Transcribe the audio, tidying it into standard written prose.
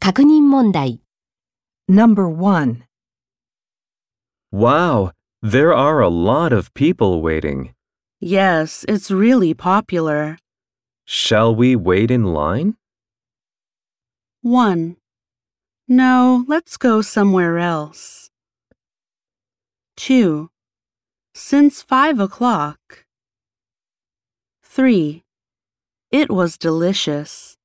確認問題。 Number 1. Wow, there are a lot of people waiting. Yes, it's really popular. Shall we wait in line? 1. No, let's go somewhere else. 2. Since 5 o'clock. 3. It was delicious.